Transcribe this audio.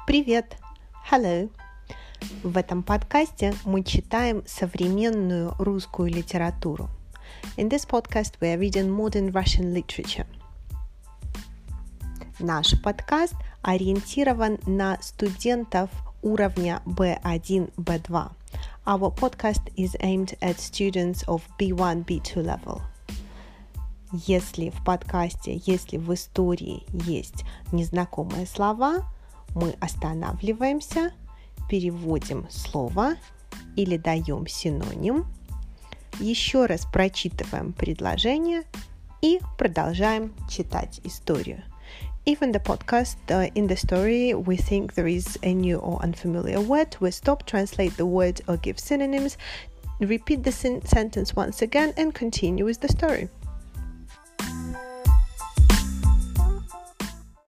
Привет! Hello! В этом подкасте мы читаем современную русскую литературу. In this podcast we are reading modern Russian literature. Наш подкаст ориентирован на студентов уровня B1, B2. Our podcast is aimed at students of B1, B2 level. Если в подкасте, если в истории есть незнакомые слова, мы останавливаемся, переводим слово или даем синоним, еще раз прочитываем предложение и продолжаем читать историю. If in the podcast, in the story, we think there is a new or unfamiliar word, we stop, translate the word or give synonyms, repeat the sentence once again and continue with the story.